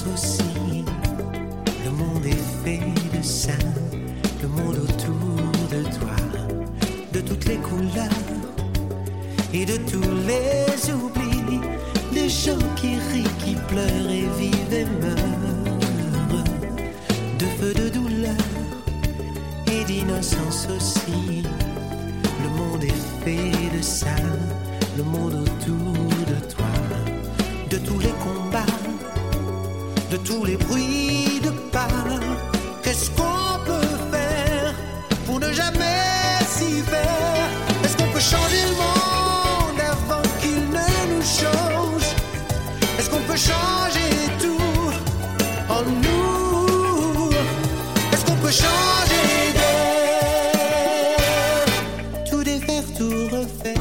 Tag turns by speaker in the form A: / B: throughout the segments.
A: innocence aussi. Le monde est fait de ça, le monde autour de toi, de toutes les couleurs et de tous les oublis, des gens qui rient, qui pleurent et vivent et meurent, de feu, de douleur et d'innocence aussi. Le monde est fait de ça, le monde autour de toi, de tous les combats, de tous les bruits de pas. Qu'est-ce qu'on peut faire pour ne jamais s'y faire? Est-ce qu'on peut changer le monde avant qu'il ne nous change? Est-ce qu'on peut changer tout en nous? Est-ce qu'on peut changer d'air? Tout défaire, tout refaire.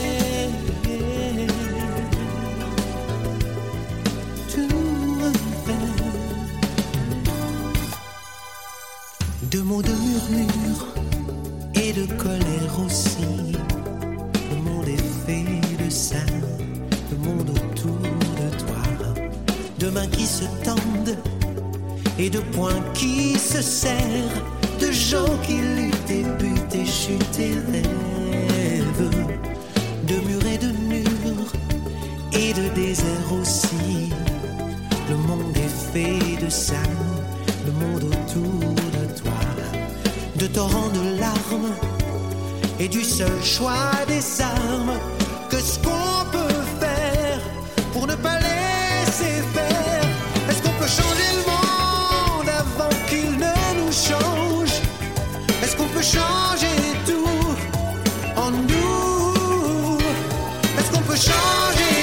A: De mots, de murmures et de colère aussi. Le monde est fait de ça, le monde autour de toi. De mains qui se tendent et de poings qui se serrent, de gens qui luttent et butent et chutent et rêvent. De murs et de murs et de déserts aussi. Le monde est fait de ça, le monde autour de toi, de torrents de larmes et du seul choix des armes. Qu'est-ce qu'on peut faire pour ne pas laisser faire? Est-ce qu'on peut changer le monde avant qu'il ne nous change? Est-ce qu'on peut changer tout en nous? Est-ce qu'on peut changer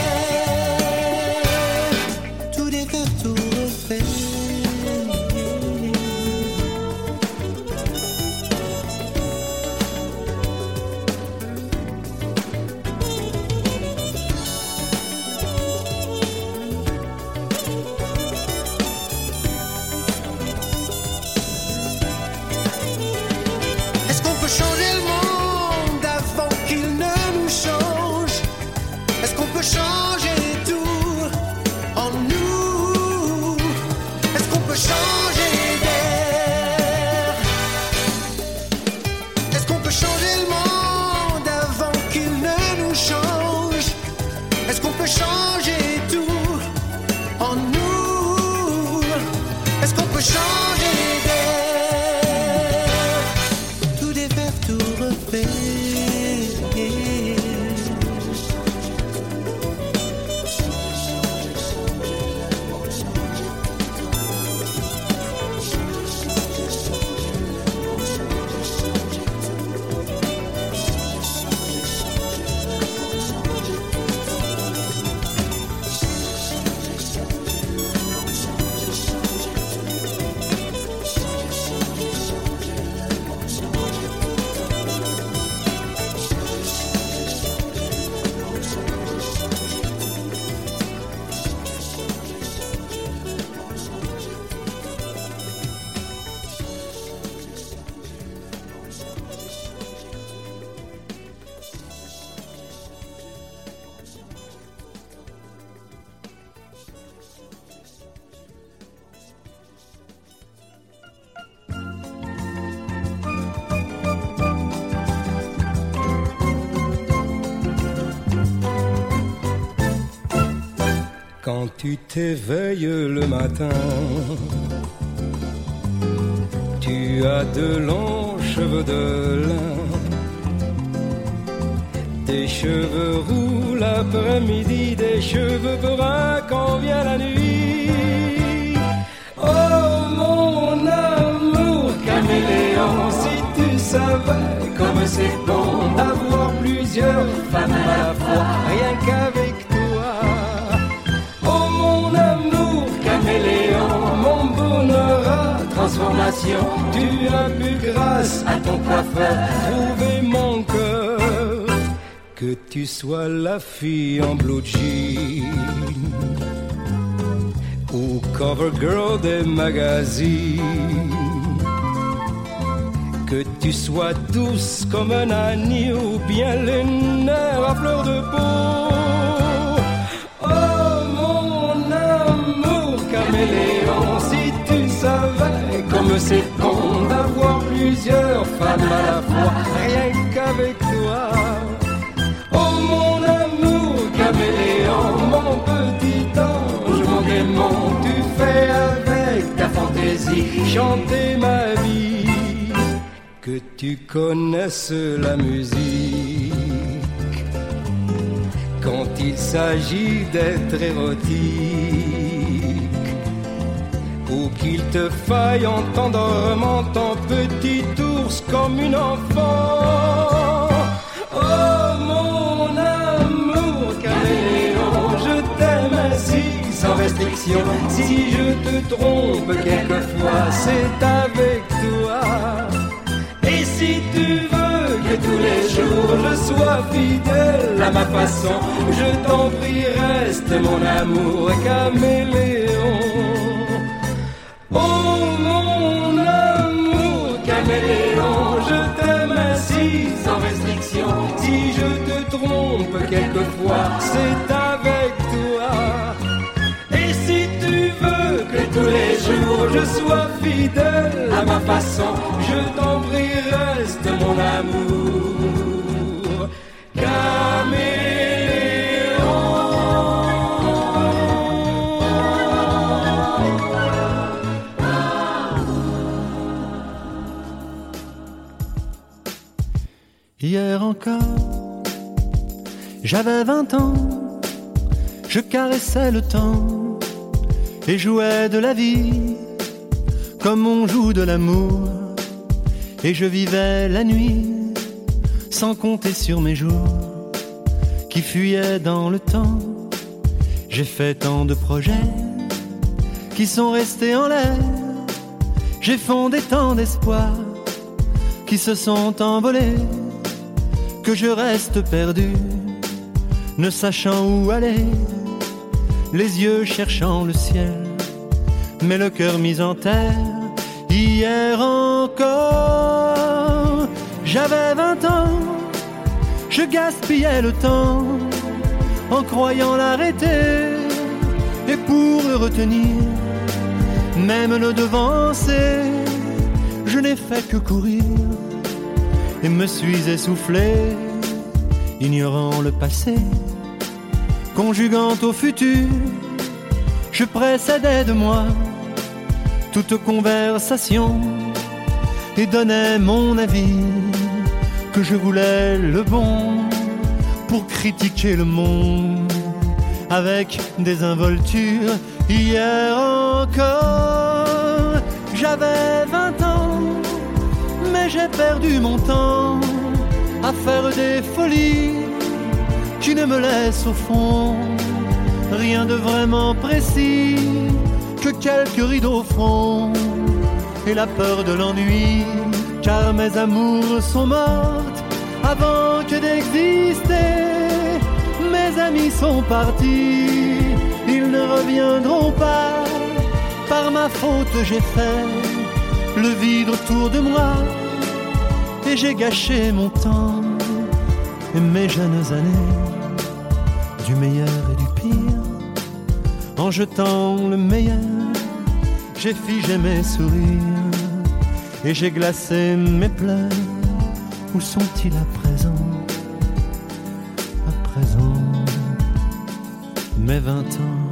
A: d'air? Tout défaire, tout refaire.
B: Quand tu t'éveilles le matin, tu as de longs cheveux de lin. Des cheveux roux l'après-midi, des cheveux bruns quand vient la nuit. Oh mon amour caméléon, si tu savais comme c'est bon d'avoir plusieurs femmes à la fois, rien qu'avec toi. Mon bonheur à transformation, tu as pu grâce à ton coiffeur trouver mon cœur. Que tu sois la fille en blue jean ou cover girl des magazines, que tu sois douce comme un agneau ou bien les nerfs à fleur de peau. Oh mon amour caméléon, femme à la fois, rien qu'avec toi. Oh mon amour caméléon, mon petit ange, mon démon, tu fais avec ta fantaisie chanter ma vie. Que tu connaisses la musique quand il s'agit d'être érotique, ou qu'il te faille en t'endormant ton petit ours comme une enfant. Oh mon amour caméléon, je t'aime ainsi sans restriction. Si je te trompe quelquefois, c'est avec toi. Et si tu veux que tous les jours je sois fidèle à ma façon, je t'en prie reste mon amour caméléon. Oh mon amour caméléon, je t'aime ainsi sans restriction. Si je te trompe quelquefois, c'est avec toi. Et si tu veux que tous les jours je sois fidèle à ma façon, je t'en prie reste mon amour caméléon.
A: Hier encore, j'avais 20 ans, je caressais le temps et jouais de la vie comme on joue de l'amour. Et je vivais la nuit sans compter sur mes jours qui fuyaient dans le temps. J'ai fait tant de projets qui sont restés en l'air. J'ai fondé tant d'espoirs qui se sont envolés, que je reste perdu, ne sachant où aller, les yeux cherchant le ciel, mais le cœur mis en terre. Hier encore, j'avais 20 ans, je gaspillais le temps en croyant l'arrêter, et pour le retenir, même le devancer, je n'ai fait que courir et me suis essoufflé, ignorant le passé, conjuguant au futur, je précédais de moi toute conversation et donnais mon avis, que je voulais le bon pour critiquer le monde avec désinvolture. Hier encore, j'avais 20 ans, mais j'ai perdu mon temps à faire des folies qui ne me laissent au fond rien de vraiment précis, que quelques rides au front et la peur de l'ennui, car mes amours sont mortes avant que d'exister. Mes amis sont partis, ils ne reviendront pas. Par ma faute j'ai fait le vide autour de moi, et j'ai gâché mon temps et mes jeunes années, du meilleur et du pire. En jetant le meilleur, j'ai figé mes sourires et j'ai glacé mes pleurs. Où sont-ils à présent? À présent, mes 20 ans.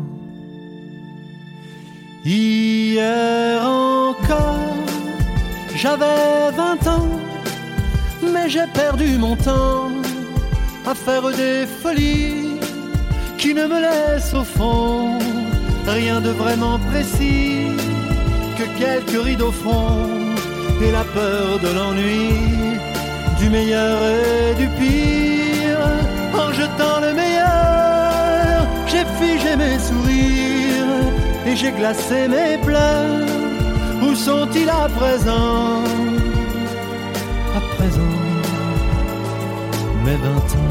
A: Hier encore, j'avais 20 ans, mais j'ai perdu mon temps à faire des folies qui ne me laissent au fond rien de vraiment précis, que quelques rides au front et la peur de l'ennui, du meilleur et du pire. En jetant le meilleur, j'ai figé mes sourires et j'ai glacé mes pleurs. Où sont-ils à présent? À présent, mes 20 ans.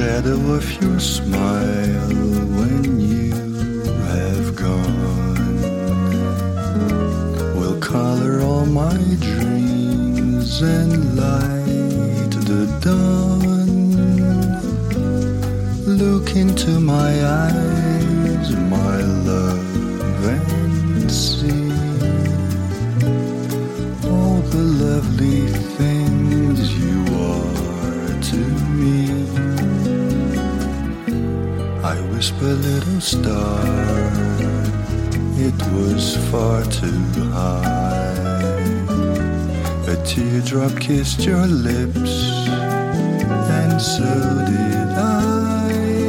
C: shadow of your smile when you have gone will color all my dreams and light the dawn. Look into my eyes, my love, and see all the lovely things you are to me. I whisper, little star, it was far too high. A teardrop kissed your lips, and so did I.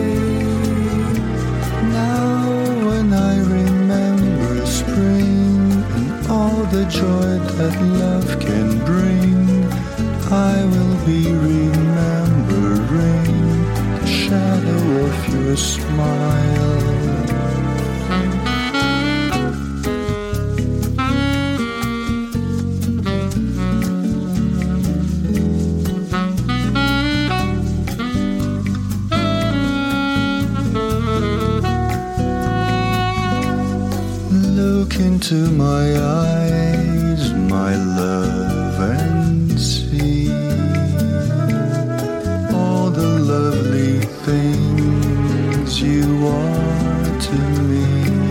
C: Now when I remember spring and all the joy that love can bring, I will be remembering the shadow of your smile. Look into my eyes, my love, and see all the lovely things you are to me.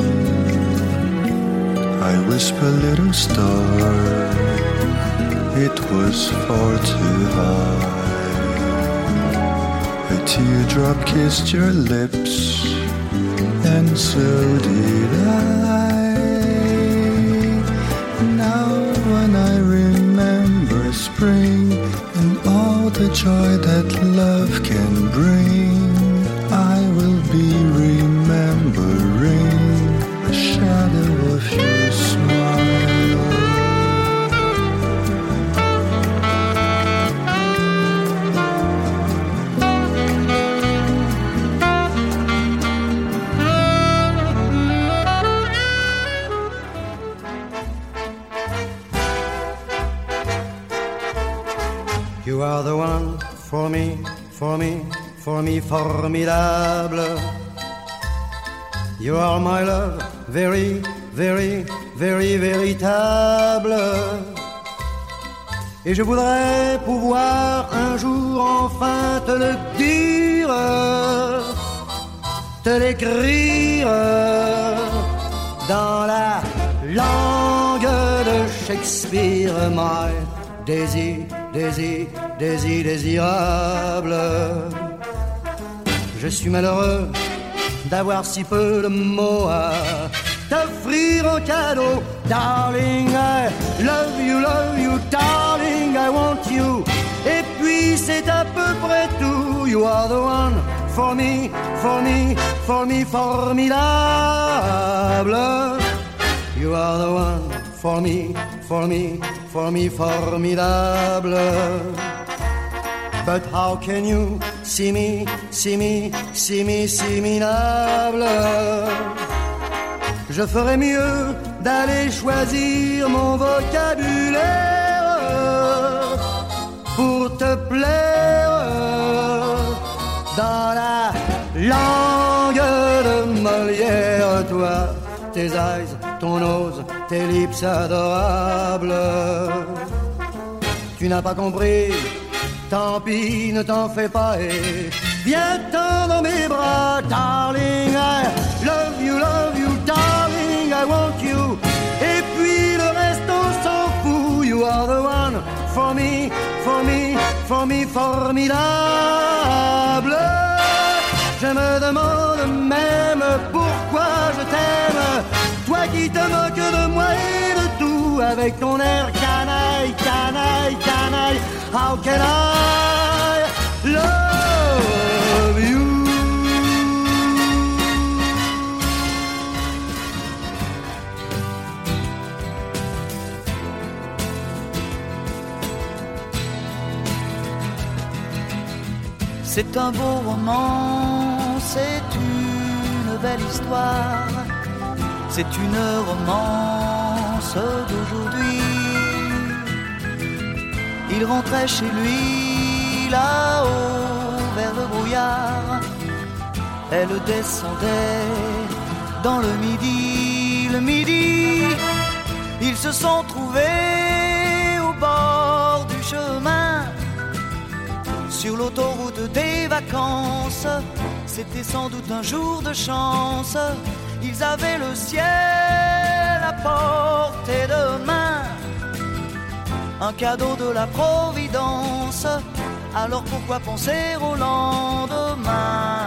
C: I whisper, little star, it was far too high. A teardrop kissed your lips, and so did I. Now when I remember spring and all the joy that love can bring, I will be remembering the shadow of your smile.
D: You are the one for me, for me, for me, formidable. You are my love, very, very, very véritable. Et je voudrais pouvoir un jour enfin te le dire, te l'écrire dans la langue de Shakespeare. My Daisy, Daisy, Daisy, désirable. Je suis malheureux d'avoir si peu de mots à t'offrir en cadeau. Darling, I love you, darling, I want you. Et puis c'est à peu près tout. You are the one for me, for me, for me, formidable. You are the one for me, for me, for me, formidable. But how can you see me, see me, see me, see me, minable? Je ferais mieux d'aller choisir mon vocabulaire pour te plaire dans la langue de Molière. Toi, tes eyes, ton nose, tes lips adorables. Tu n'as pas compris, tant pis, ne t'en fais pas et viens-t'en dans mes bras. Darling, I love you, darling, I want you. Et puis le reste on s'en fout. You are the one for me, for me, for me, formidable. Je me demande même pourquoi je t'aime, toi qui te moques de moi et de tout, avec ton air canaille, canaille, canaille. How can I love you?
E: C'est un beau roman, c'est une belle histoire, c'est une romance d'aujourd'hui. Il rentrait chez lui là-haut vers le brouillard, elle descendait dans le midi. Le midi, ils se sont trouvés au bord du chemin, sur l'autoroute des vacances. C'était sans doute un jour de chance. Ils avaient le ciel à portée de main, un cadeau de la Providence. Alors pourquoi penser au lendemain?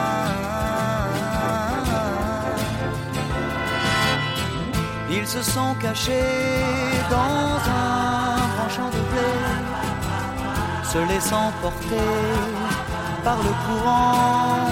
E: Ils se sont cachés dans un grand champ de blé, se laissant porter par le courant,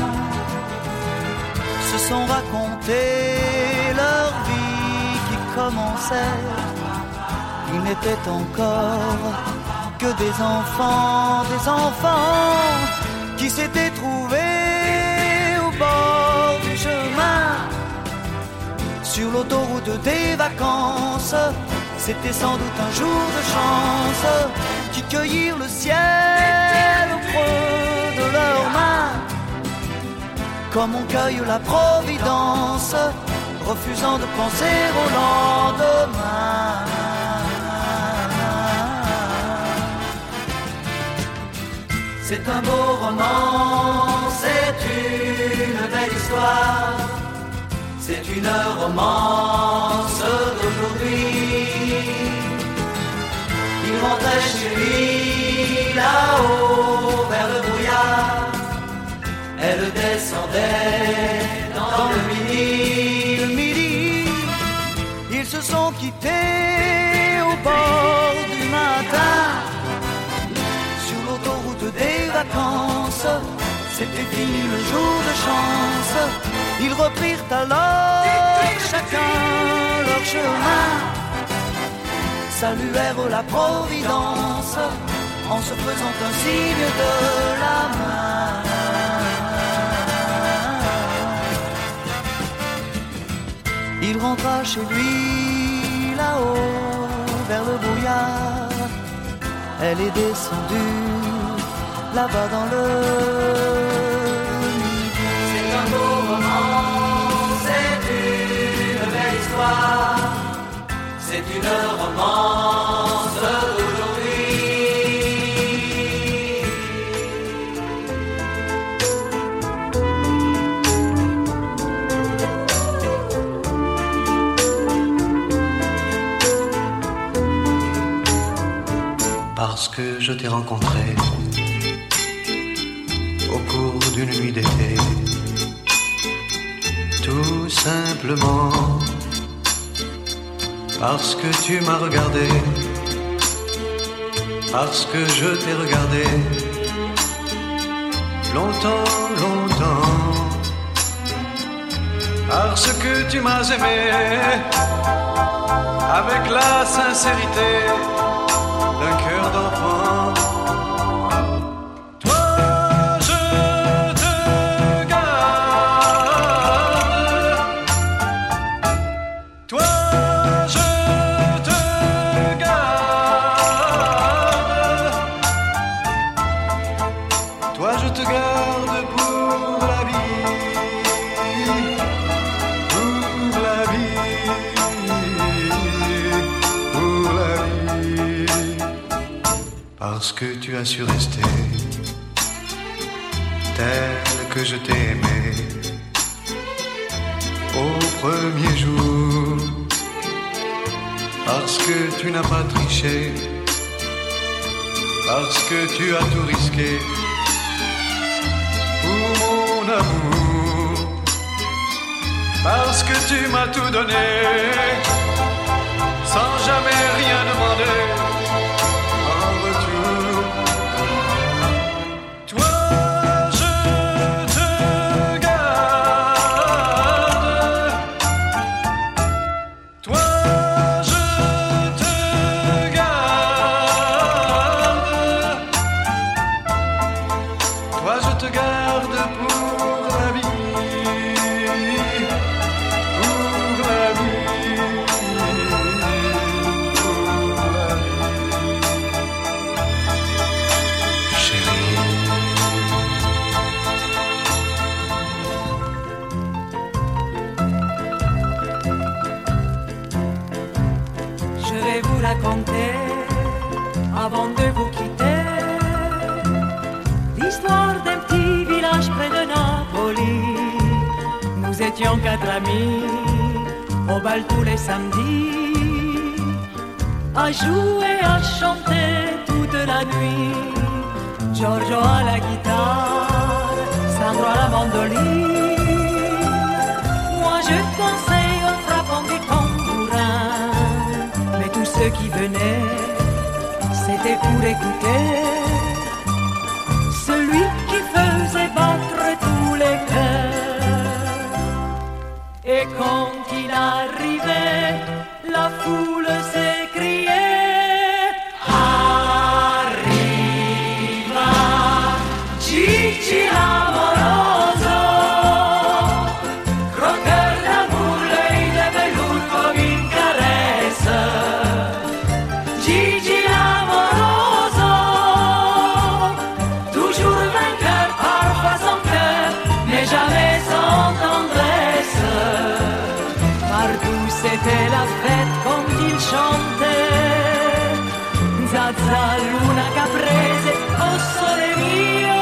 E: se sont raconté leur vie qui commençait. Ils n'étaient encore que des enfants qui s'étaient trouvés au bord du chemin, sur l'autoroute des vacances. C'était sans doute un jour de chance, qui cueillirent le ciel au creux de leurs mains, comme on cueille la Providence, refusant de penser au lendemain. C'est un beau roman, c'est une belle histoire, c'est une romance d'aujourd'hui. Il rentrait chez lui là-haut vers le brouillard, elle descendait dans le midi. Le midi, ils se sont quittés au bord du matin, sur l'autoroute des vacances. C'était fini le jour de chance. Ils reprirent alors chacun leur chemin, saluèrent la Providence en se faisant un signe de la main. Il rentra chez lui là-haut vers le brouillard, elle est descendue là-bas dans le midi. C'est un beau roman, c'est une belle histoire, c'est une romance d'aujourd'hui.
C: Parce que je t'ai rencontré au cours d'une nuit d'été, tout simplement parce que tu m'as regardé, parce que je t'ai regardé longtemps, longtemps, parce que tu m'as aimé avec la sincérité d'un cœur d'enfant. Parce que tu as su rester tel que je t'ai aimé au premier jour, parce que tu n'as pas triché, parce que tu as tout risqué pour mon amour, parce que tu m'as tout donné sans jamais rien demander.
F: raconter avant de vous quitter l'histoire d'un petit village près de Napoli. Nous étions 4 amis au bal tous les samedis, à jouer, à chanter toute la nuit. Giorgio à la guitare, Sandro à la mandoline. Moi je dansais en frappant du tambourin, mais tous ceux qui venaient, c'était pour écouter celui qui faisait battre tous les cœurs. Et quand il arrivait, la foule s'écriait: Gigi l'amoroso, croqueur d'amour, l'œil de velours comme une caresse. Gigi l'amoroso, toujours vainqueur, parfois sans cœur, mais jamais sans tendresse. Partout c'était la fête quand il chantait Zazza, Luna, Caprese, oh sole mio.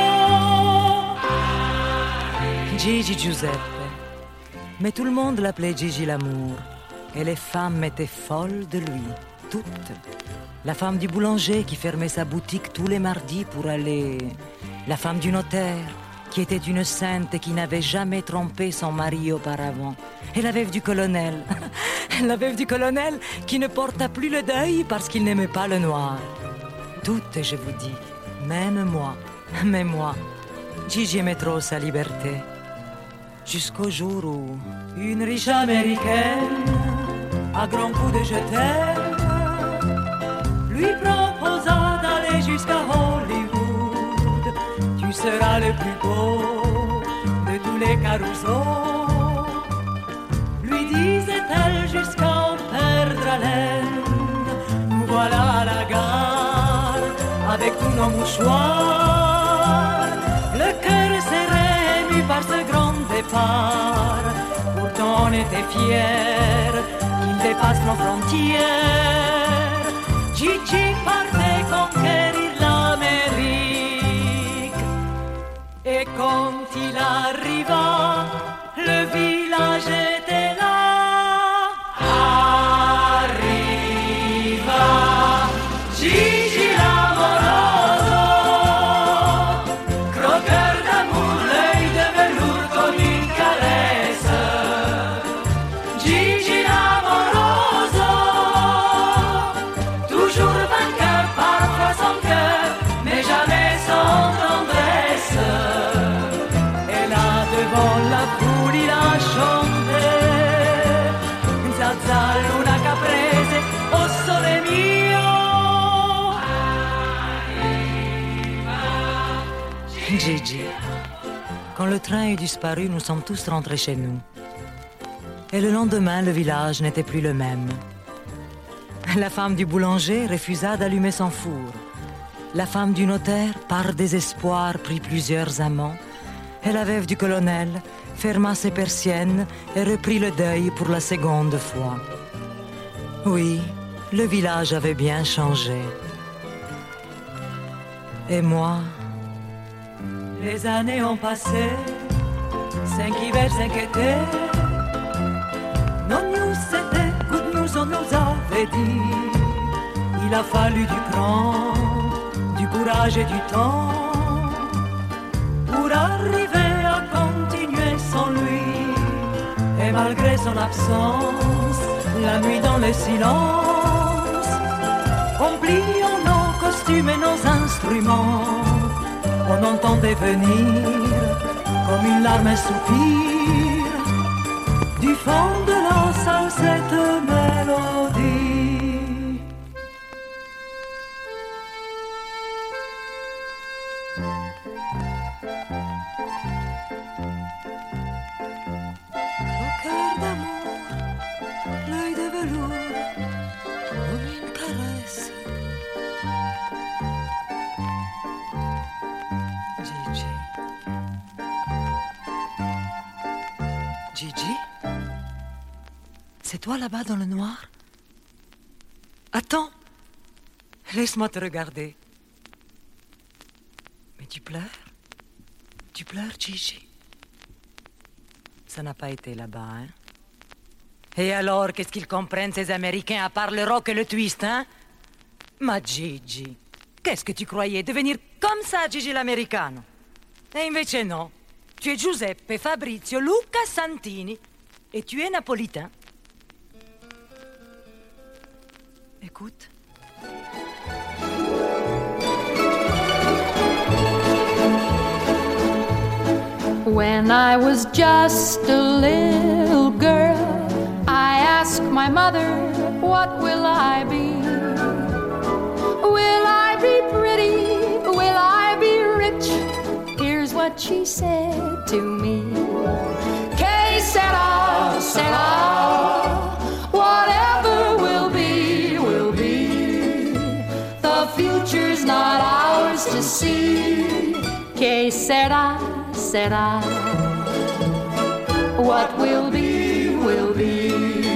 F: Gigi Giuseppe, mais tout le monde l'appelait Gigi l'amour, et les femmes étaient folles de lui, toutes. La femme du boulanger qui fermait sa boutique tous les mardis pour aller, la femme du notaire qui était une sainte et qui n'avait jamais trompé son mari auparavant, et la veuve du colonel, la veuve du colonel qui ne porta plus le deuil parce qu'il n'aimait pas le noir. Toutes, je vous dis, même moi, mais moi, Gigi aimait trop sa liberté. Jusqu'au jour où une riche américaine, à grands coups de je t'aime, lui proposa d'aller jusqu'à Hollywood. Tu seras le plus beau de tous les carousaux, lui disait-elle jusqu'à en perdre haleine. Nous voilà à la gare avec tous nos mouchoirs, le cœur serré ému par ce grand départ. Pourtant on était fiers qu'il dépasse nos frontières. Gigi partait conquérir l'Amérique. Et quand il arriva, le village était là. Arriva Gigi l'amoroso, croqueur d'amour, l'œil de velours comme une caresse. Gigi l'amoroso, toujours vainqueur, parfois sans cœur, mais jamais sans tendresse. Et là devant la foule il a chanté Zazza, Luna, Caprese, oh sole mio. Gigi, quand le train est disparu, nous sommes tous rentrés chez nous. Et le lendemain, le village n'était plus le même. La femme du boulanger refusa d'allumer son four. La femme du notaire, par désespoir, prit plusieurs amants. Et la veuve du colonel ferma ses persiennes et reprit le deuil pour la seconde fois. Oui, le village avait bien changé. Et moi, les années ont passé, 5 hivers, 5 étés. Non news, c'était good news, on nous avait dit. Il a fallu du cran, du courage et du temps pour arriver à continuer sans lui. Et malgré son absence, la nuit dans le silence, en pliant nos costumes et nos instruments, on entendait venir comme une larme, un soupir du fond de la salle cette mélodie. Au cœur d'amour, l'œil de velours, comme une caresse. Gigi. Gigi? C'est toi là-bas dans le noir? Attends! Laisse-moi te regarder. Mais tu pleures? Tu pleures, Gigi? Ça n'a pas été là-bas, hein? Et alors, qu'est-ce qu'ils comprennent, ces Américains, à part le rock et le twist, hein? Ma Gigi, qu'est-ce que tu croyais? Devenir comme ça, Gigi l'americano? E invece no. Tu es Giuseppe Fabrizio Luca Santini. Et tu es napolitain. Écoute.
G: When I was just a little girl, I asked my mother, what will I be? Will I be pretty? Will I be rich? Here's what she said to me. Que sera, sera. Whatever will be, will be. The future's not ours to see. Que sera, sera. What will be, will be.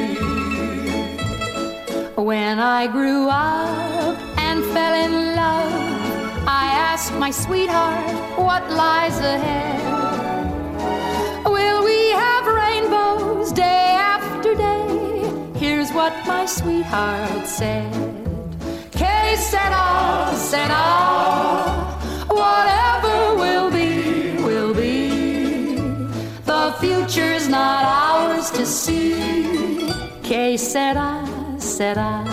G: When I grew up and fell in love, I asked my sweetheart, what lies ahead? Will we have rainbows day after day? Here's what my sweetheart said. Que sera, sera. Whatever will be, will be. The future's not ours to see. Que sera, sera.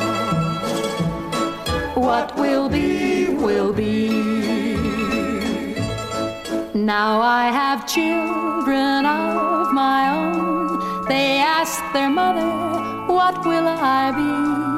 G: What will be, will be. Now I have children of my own. They ask their mother, what will I be?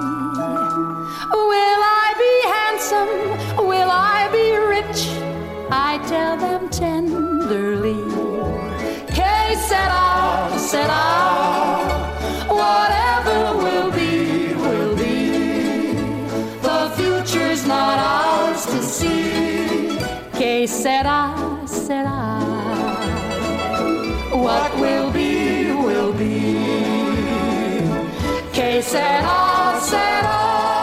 G: Will I be handsome? Will I be rich? I tell them tenderly. Que sera, sera. Whatever will be, will be. The future's not ours to see. Que sera, sera. What will be, will be. Que sera, sera.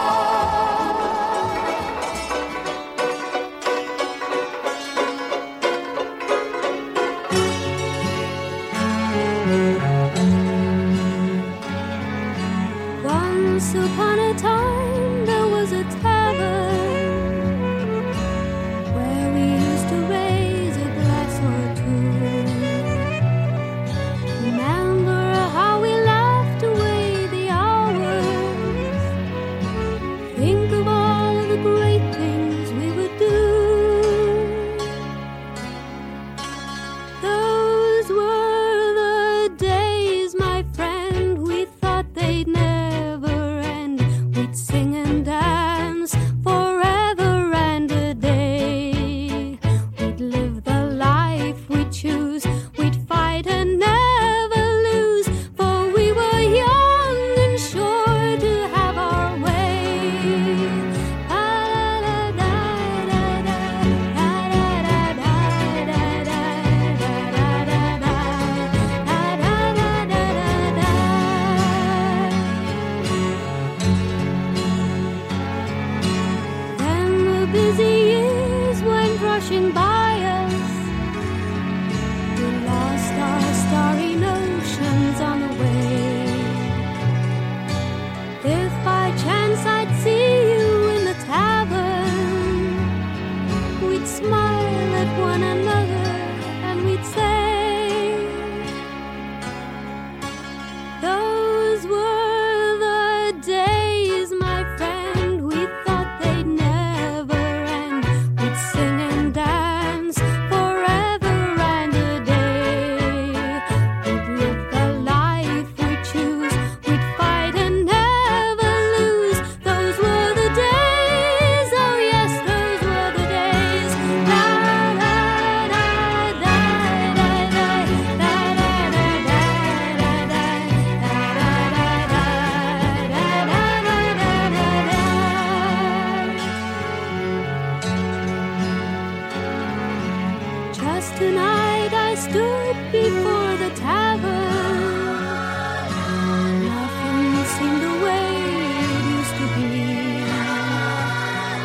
H: Once upon a time there was a tavern where we used to raise a glass or two. Remember how we laughed away the hours. Think of all the great things we would do. Those were the days, my friend, we thought they'd never end. We'd sing and dance forever and a day. We'd live the life we choose. We'd fight and never lose, for we were young and sure to have our way. Then the busy years went rushing by us. We lost our starry notions on the way. If by chance I'd see you in the tavern, we'd smile at one another and we'd say, those were the days, my friend, we thought they'd never end. We'd sing and dance forever and a day. We'd live the life we choose. We'd fight and never lose. Those were the days, oh yes, those were the days. La la la da da da da da da da Just tonight I stood before the tavern. Nothing seemed the way it used to be.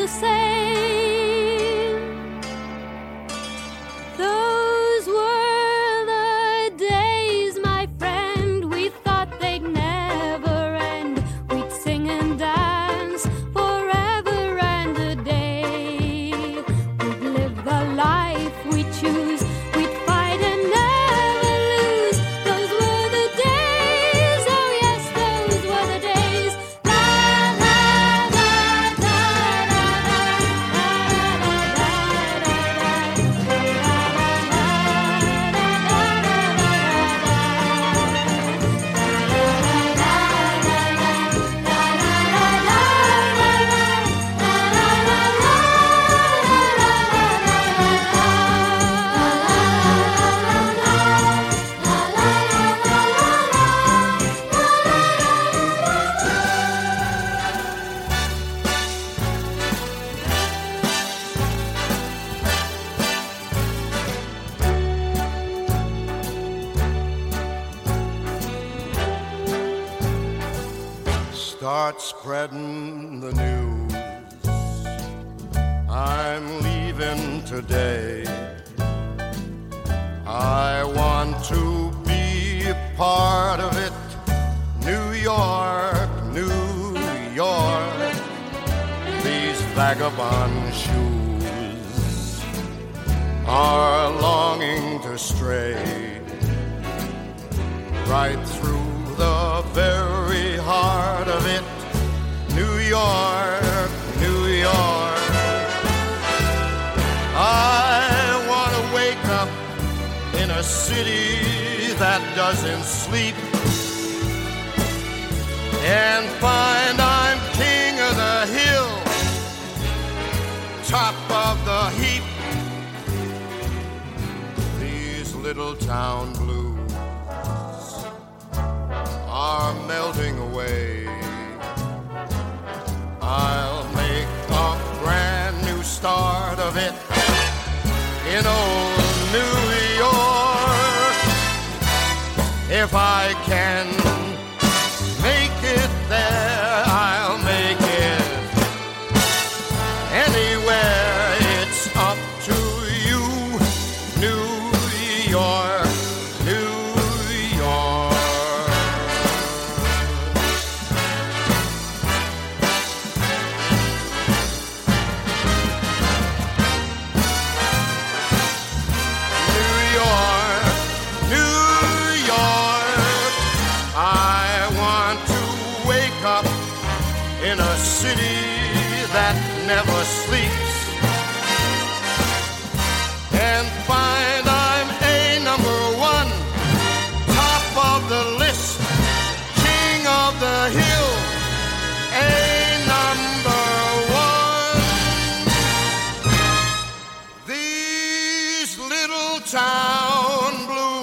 H: the same. Those were the days, my friend, we thought they'd never end. We'd sing and dance forever and a day. We'd live the life we choose. We'd fight and never lose. Those were the days, oh yes, those were the days. La la la la la
I: Start spreading the news. I'm leaving today. I want to be a part of it. New York, New York. These vagabond shoes are longing to stray right through the very heart of it. New York, New York. I want to wake up in a city that doesn't sleep and find I'm king of the hill, top of the heap. These little town blues are melting away. I'll make a brand new start of it in old New York. If I can make it there, I'll make it anywhere. It's up to you, New York, New York. In a city that never sleeps and find I'm a number one, top of the list, king of the hill, a number one. These little town blues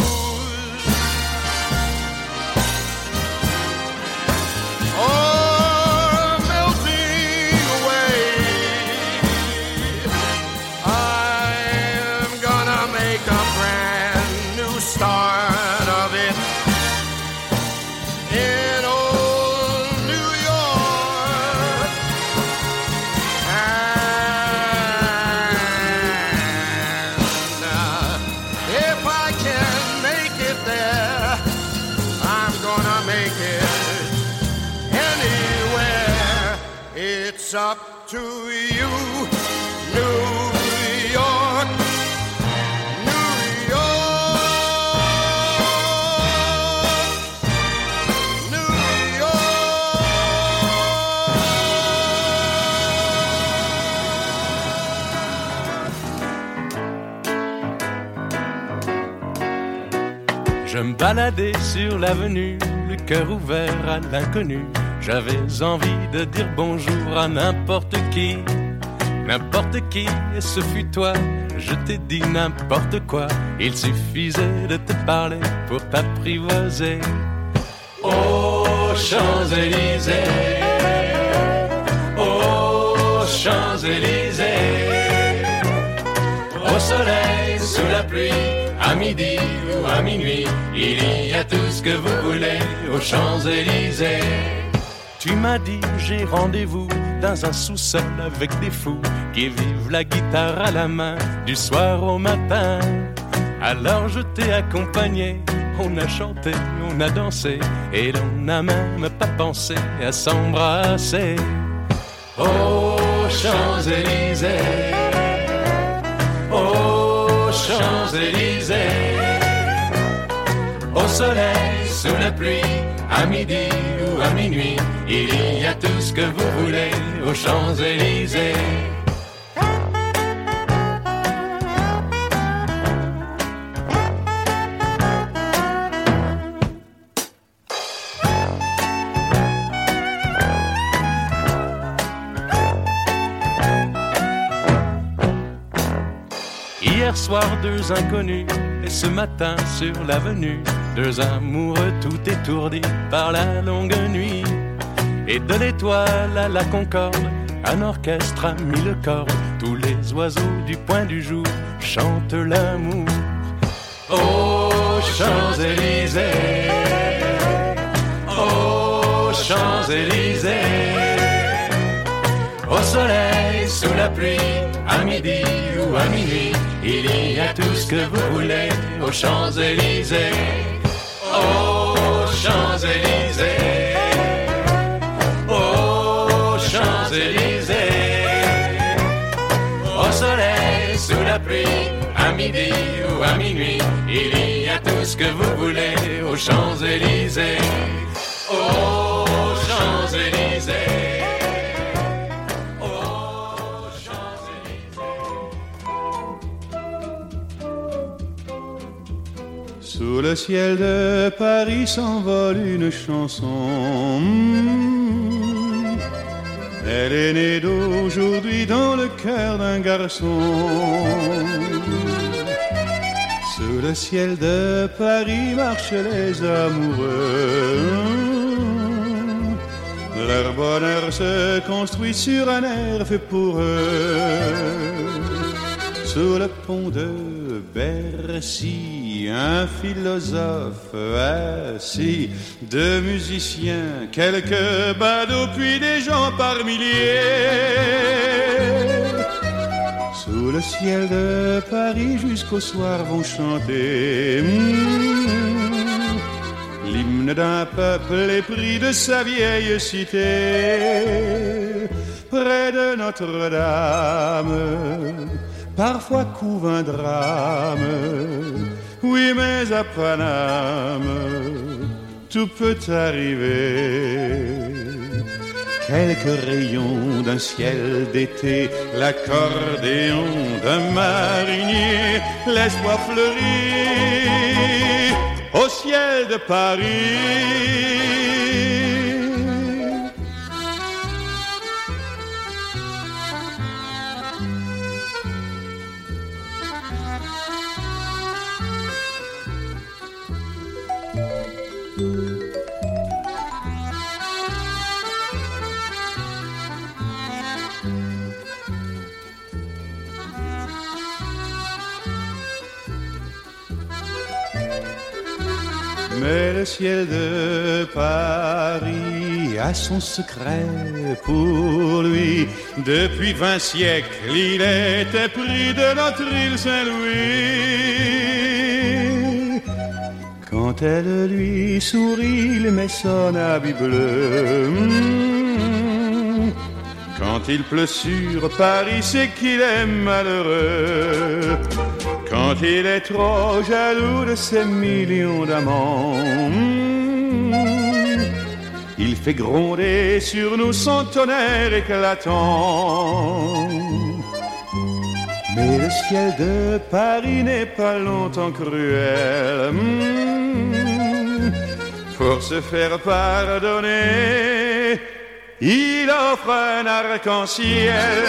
I: start of it in old New York. And if I can make it there, I'm gonna make it anywhere. It's up to you, New York.
J: Je me baladais sur l'avenue, le cœur ouvert à l'inconnu. J'avais envie de dire bonjour à n'importe qui, et ce fut toi. Je t'ai dit n'importe quoi, il suffisait de te parler pour t'apprivoiser. Aux Champs-Élysées, aux Champs-Élysées, au soleil, sous la pluie, à midi ou à minuit, il y a tout ce que vous voulez aux Champs-Élysées. Tu m'as dit j'ai rendez-vous dans un sous-sol avec des fous qui vivent la guitare à la main du soir au matin. Alors je t'ai accompagné, on a chanté, on a dansé et l'on n'a même pas pensé à s'embrasser. Aux Champs-Élysées, aux Champs-Élysées, au soleil, sous la pluie, à midi ou à minuit, il y a tout ce que vous voulez aux Champs-Élysées. Hier soir, deux inconnus, et ce matin sur l'avenue, deux amoureux tout étourdis par la longue nuit. Et de l'étoile à la Concorde, un orchestre a mis le corps. Tous les oiseaux du point du jour chantent l'amour. Aux Champs-Élysées, aux Champs-Élysées, au soleil, sous la pluie, à midi ou à minuit, il y a tout ce que vous voulez aux Champs-Élysées. Aux Champs-Élysées, aux Champs-Élysées, au soleil, sous la pluie, à midi ou à minuit, il y a tout ce que vous voulez aux Champs-Élysées. Aux Champs-Élysées.
C: Sous le ciel de Paris s'envole une chanson. Elle est née d'aujourd'hui dans le cœur d'un garçon. Sous le ciel de Paris marchent les amoureux. Leur bonheur se construit sur un air fait pour eux. Sous le pont de Bercy, un philosophe assis, deux musiciens, quelques badauds, puis des gens par milliers. Sous le ciel de Paris, jusqu'au soir vont chanter l'hymne d'un peuple épris de sa vieille cité. Près de Notre-Dame, parfois couve un drame, oui, mais à Paname, tout peut arriver. Quelques rayons d'un ciel d'été, l'accordéon d'un marinier, l'espoir fleurit au ciel de Paris. Mais le ciel de Paris a son secret pour lui. Depuis 20 siècles, il était pris de notre île Saint-Louis. Quand elle lui sourit, il met son habit bleu. Quand il pleut sur Paris, c'est qu'il est malheureux. Quand il est trop jaloux de ses millions d'amants, il fait gronder sur nous son tonnerre éclatant. Mais le ciel de Paris n'est pas longtemps cruel. Pour se faire pardonner, il offre un arc-en-ciel.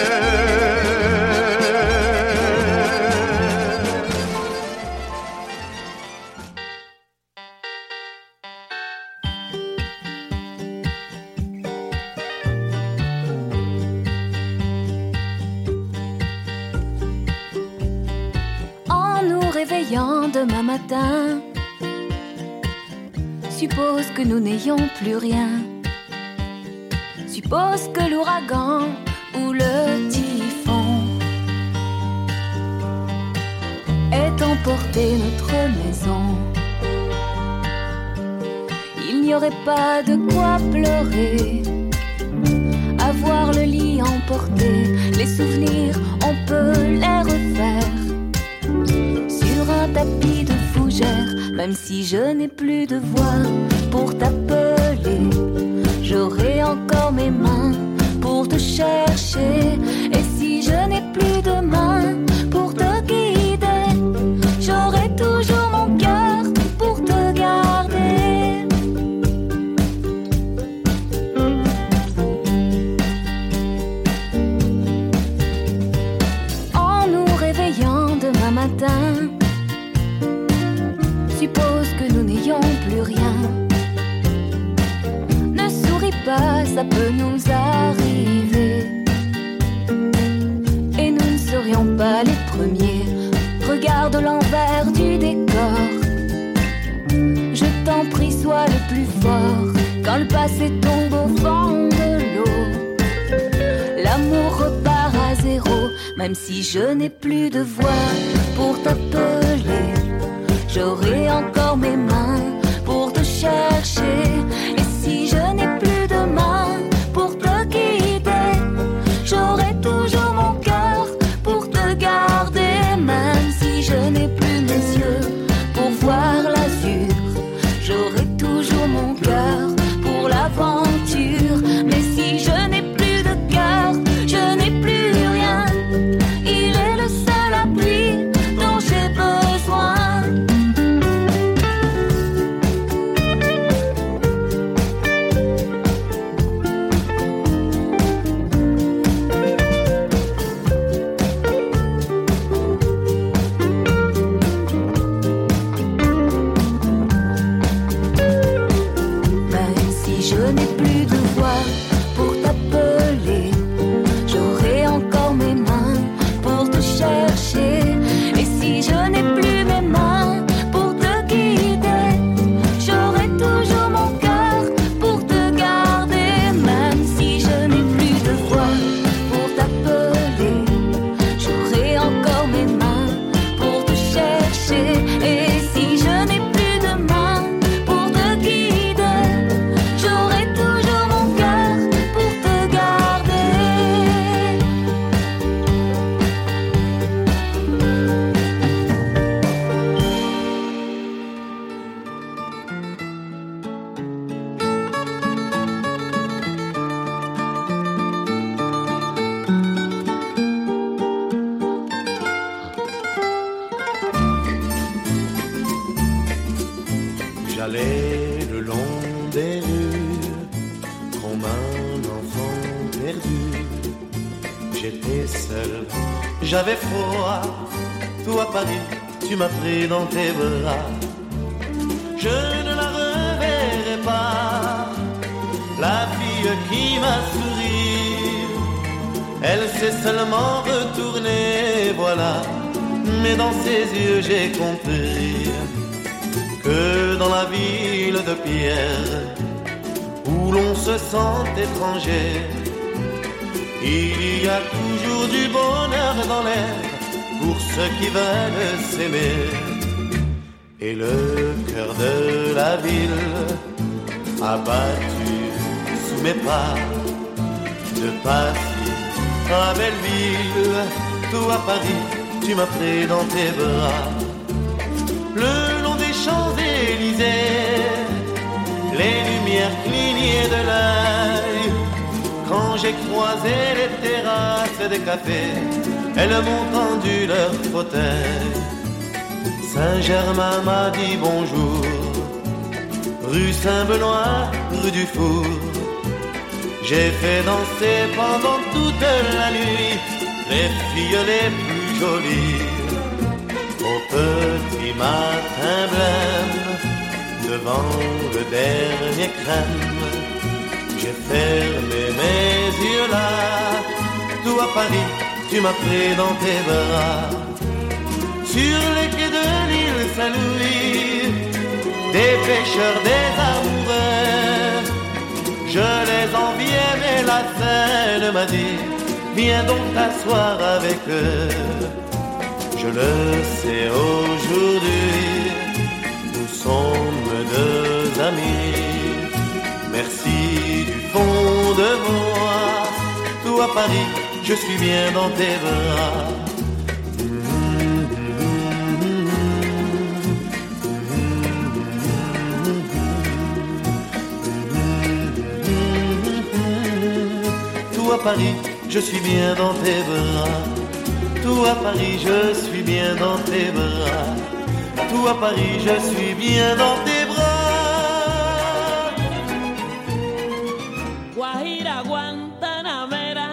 H: Demain matin, suppose que nous n'ayons plus rien.
K: Suppose que l'ouragan ou le typhon ait emporté notre maison. Il n'y aurait pas de quoi pleurer, avoir le lit emporté. Les souvenirs, on peut les refaire sur un tapis de fougères. Même si je n'ai plus de voix pour t'appeler, j'aurai encore mes mains pour te chercher. Et si je n'ai plus de mains pour te guider, j'aurai toujours mon cœur pour te garder. En nous réveillant demain matin, suppose que nous n'ayons plus rien. Ne souris pas, ça peut nous arriver. Et nous ne serions pas les premiers. Regarde l'envers du décor. Je t'en prie, sois le plus fort. Quand le passé tombe au fond de l'eau, l'amour repart à zéro. Même si je n'ai plus de voix pour t'appeler, j'aurai encore mes mains pour te chercher. Et si je n'ai plus de mains pour te guider, j'aurai toujours mon cœur pour te garder. Même si je n'ai plus mes yeux pour voir l'azur, j'aurai toujours mon cœur pour l'aventure. Mais si je n'ai plus de cœur, je n'ai plus rien. Il est le seul appui dont j'ai besoin. Je n'ai plus de voix pour t'appeler, j'aurai encore mes mains pour te chercher. Et si je n'ai plus mes mains pour te guider, j'aurai toujours mon cœur pour te garder. Même si je n'ai plus de voix pour t'appeler, j'aurai encore mes mains pour te chercher. Et si je n'ai plus de mains pour te guider, j'aurai toujours mon cœur pour te garder.
L: J'allais le long des rues comme un enfant perdu. J'étais seul, j'avais froid. Toi Paris, tu m'as pris dans tes bras. Je ne la reverrai pas, la fille qui m'a souri. Elle s'est seulement retournée, voilà. Mais dans ses yeux j'ai compris que dans la ville de pierre, où l'on se sent étranger, il y a toujours du bonheur dans l'air pour ceux qui veulent s'aimer. Et le cœur de la ville a battu sous mes pas, de Passy à Belleville, toi Paris, tu m'as pris dans tes bras. Le long des Champs-Élysées, les lumières clignaient de l'œil. Quand j'ai croisé les terrasses des cafés, elles m'ont tendu leur fauteuil. Saint-Germain m'a dit bonjour, rue Saint-Benoît, rue du Four. J'ai fait danser pendant toute la nuit les filles les plus jolies. Au petit matin blême, devant le dernier crème, j'ai fermé mes yeux là. Toi Paris, tu m'as pris dans tes bras. Sur les quais de l'île Saint-Louis, des pêcheurs, des amoureux, je les enviais, mais la scène m'a dit, viens donc t'asseoir avec eux. Je le sais aujourd'hui, nous sommes deux amis. Merci du fond de moi, tout à Paris, je suis bien dans tes bras. Tout à Paris, je suis bien dans tes bras. Tout à Paris, je suis bien dans tes bras. Tout à Paris, je suis bien dans tes bras.
M: Guajira, Guantanamera,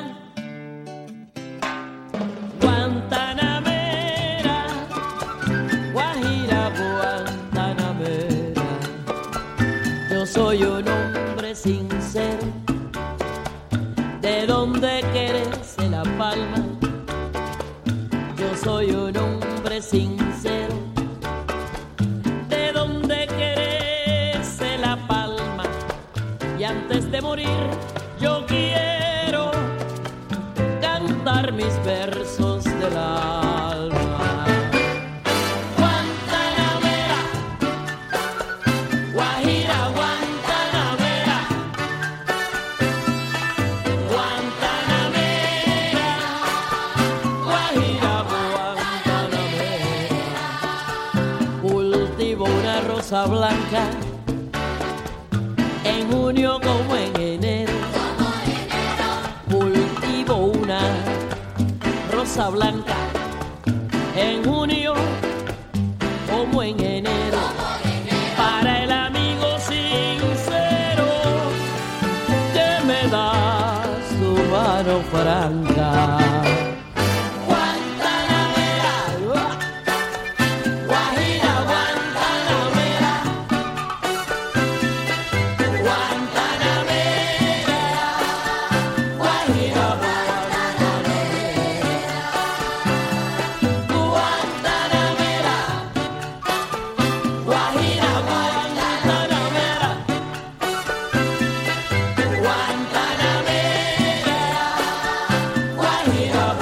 M: Guantanamera, Guajira, Guantanamera. Yo soy un hombre sincero, de donde quererse La Palma. Yo soy un hombre sincero, de donde quererse La Palma. Y antes de morir yo quiero cantar mis versos del alma. Guantanamera, Guajira, Guantanamera, Guantanamera, Guajira, Guantanamera. Cultivo una rosa blanca en junio como en enero. Cultivo una rosa blanca en junio como en enero. Para el amigo sincero que me da su mano franca. Guantanamera, Guajira, Guantanamera, Guantanamera, Guajira, Guantanamera, Guajira, Guantanamera, Guantanamera, Guajira,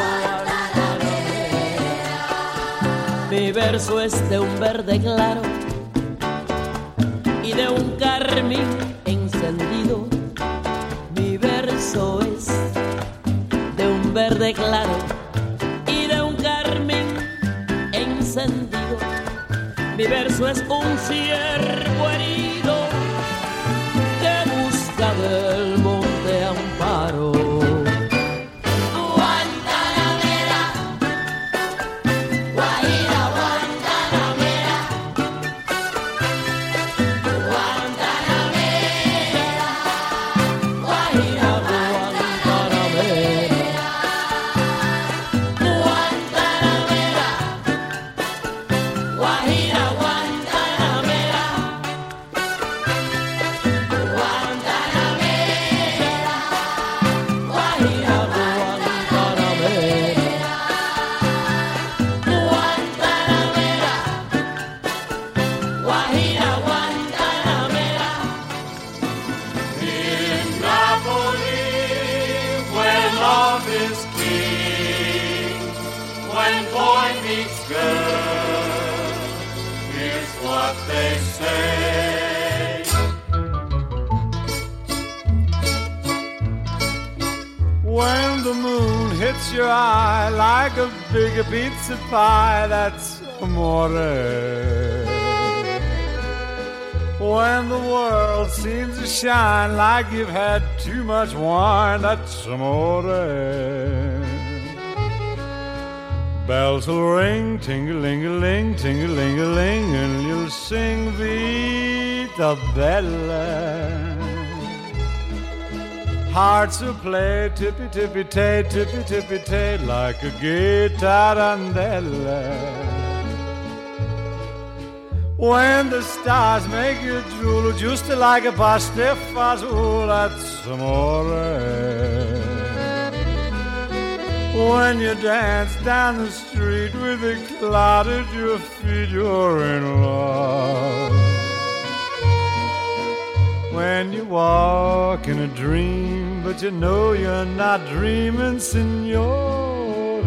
M: Guantanamera. Mi verso es de un verde claro y de un carmín encendido. Mi verso es de un verde claro y de un carmín encendido. Mi verso es un ciervo herido que busca del monte amparo. Guantanamera, Guajira, Guantanamera, Guantanamera, Guajira, Guantanamera, Guantanamera, Guajira, Guantanamera,
C: they say. When the moon hits your eye like a big pizza pie, that's amore. When the world seems to shine like you've had too much wine, that's amore. Bells will ring, ting-a-ling-a-ling, ting-a-ling-a-ling, and you'll sing Vita Bella. Hearts will play tippy-tippy-tay, tippy-tippy-tay, like a guitarandella. When the stars make you drool, just like a pastifazool, that's amore. When you dance down the street with a cloud at your feet, you're in love.
N: when you walk in a dream, but you know you're not dreaming, signore.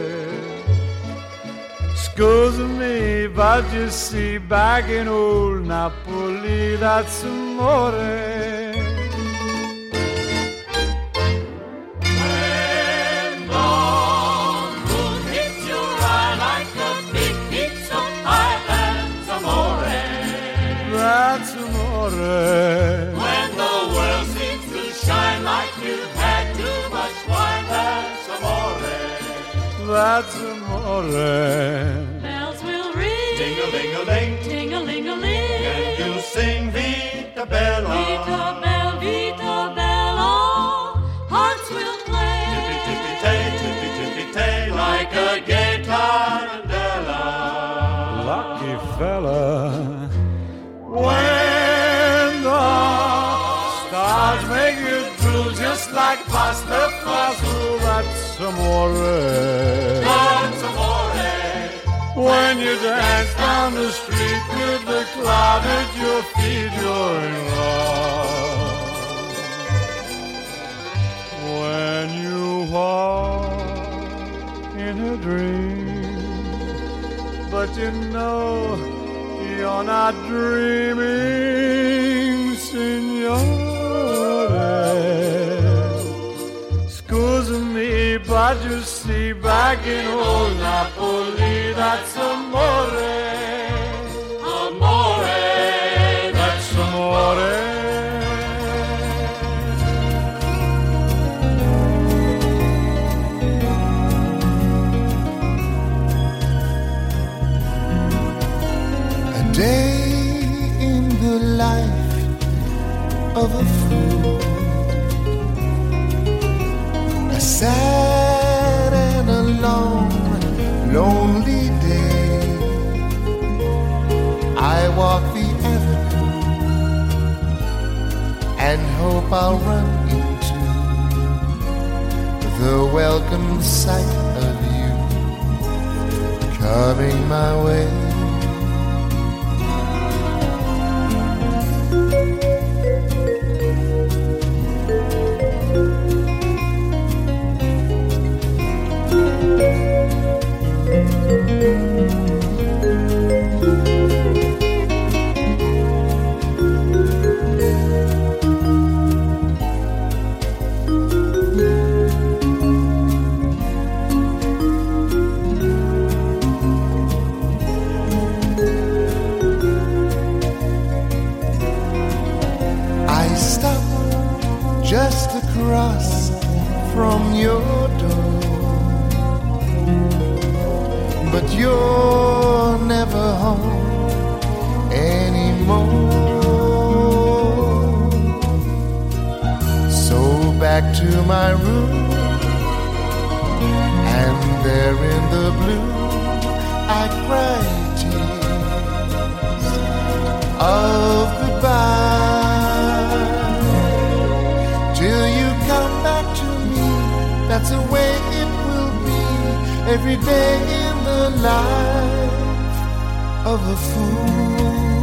N: Scusa me, but you see, back in old Napoli, that's amore. That's amore.
O: When the world seems to shine like you've had too much wine, that's amore.
N: That's amore.
O: Bells will ring, ting-a-ling-a-ling, ting-a-ling-a-ling, and you'll sing Vita Bella, Vita Bella, Vita Bella. Hearts will play, tippy-tippy-tay, tippy-tippy-tay, like a gay tarantella.
N: Lucky fella. When the stars make you drool just like pasta fazool, that's amore.
O: That's amore.
N: When you dance down the street with the cloud at your feet, you're in love. When you walk in a dream, but you know you're not dreaming, signore. Scusa me, but you see, back in old Napoli, that's amore.
O: Amore,
N: that's amore.
P: Day in the life of a fool, a sad and a long, lonely day. I walk the avenue and hope I'll run into the welcome sight of you coming my way. Just across from your door, but you're never home anymore. So back to my room, and there in the blue I cry tears of goodbye. Till you come back to me, that's the way it will be every day in the life of a fool.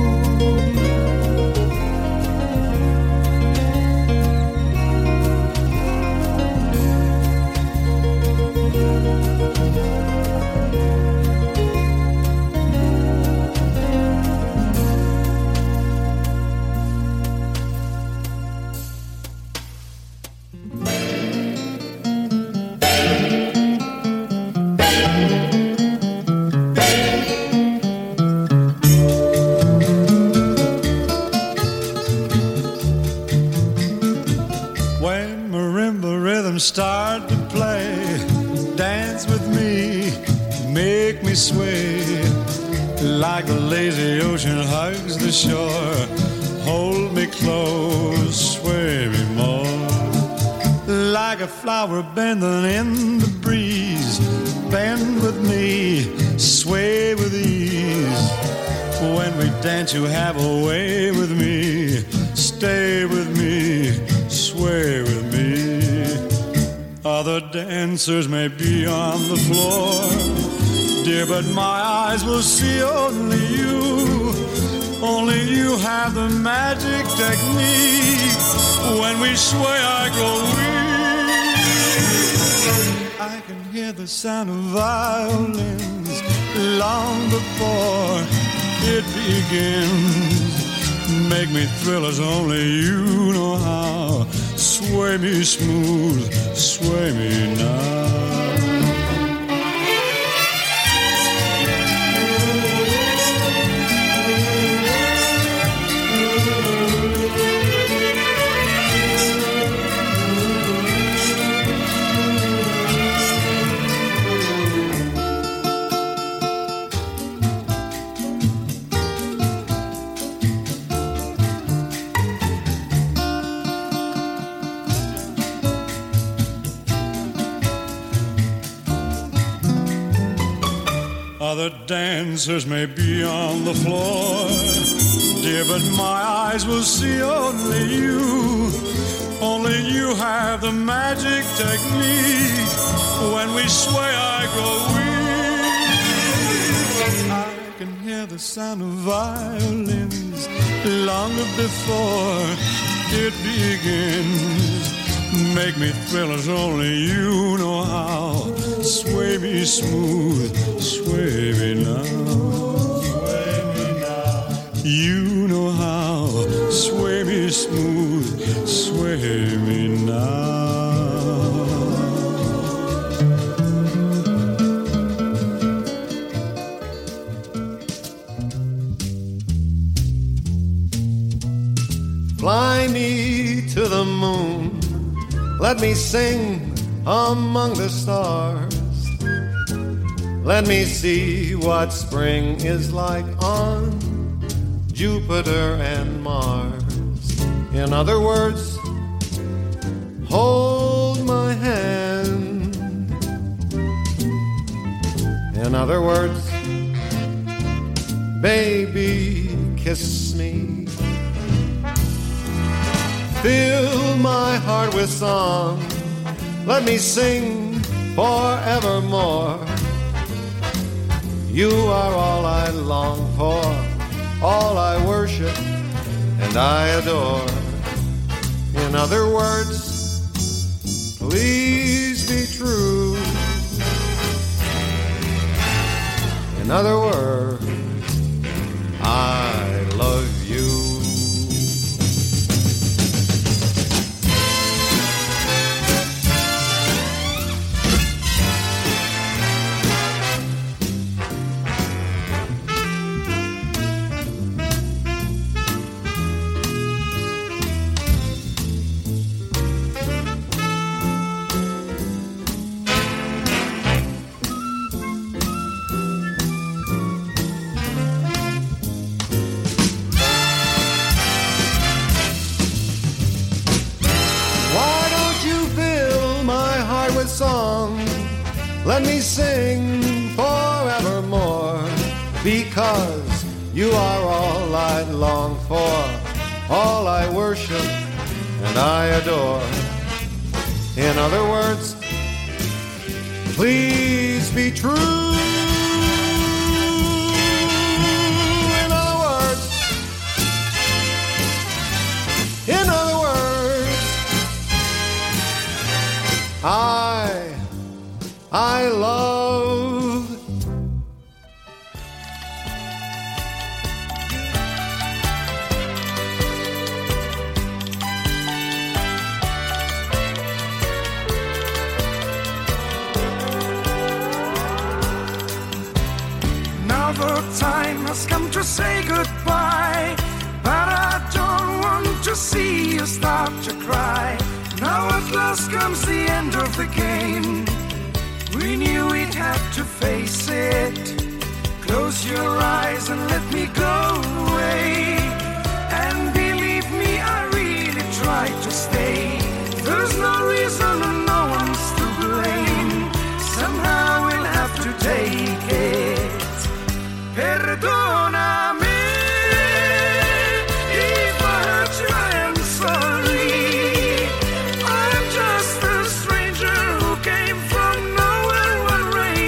N: Start to play, dance with me, make me sway, like the lazy ocean hugs the shore. Hold me close, sway me more, like a flower bending in the breeze. Bend with me, sway with ease. When we dance you have a way with me. Stay with me, sway with me. Other dancers may be on the floor, dear, but my eyes will see only you. Only you have the magic technique. When we sway, I grow weak. I can hear the sound of violins long before it begins. Make me thrill as only you know how. Sway me smooth, sway me now. Other dancers may be on the floor, dear, but my eyes will see only you. Only you have the magic technique. When we sway, I grow weak. I can hear the sound of violins long before it begins. Make me thrill as only you know how. Sway me smooth, sway me now. Sway me now. You know how. Sway me smooth, sway me now.
L: Fly me to the moon. Let me sing among the stars. Let me see what spring is like on Jupiter and Mars. In other words, hold my hand. In other words, baby, kiss me. Fill my heart with song. Let me sing forevermore. You are all I long for, all I worship and I adore. In other words, please be true. In other words, I love you. Song, let me sing forevermore, because you are all I long for, all I worship and I adore. In other words, please be true. In other words, I love.
Q: Now the time has come to say goodbye, but I don't want to see you start to cry. Now at last comes the end of the game. We knew we'd have to face it. Close your eyes and let me go away. And believe me, I really tried to stay. There's no reason and no one's to blame. Somehow we'll have to take it. Perdóname. If I hurt you, I am sorry. I'm just a stranger who came from nowhere when rain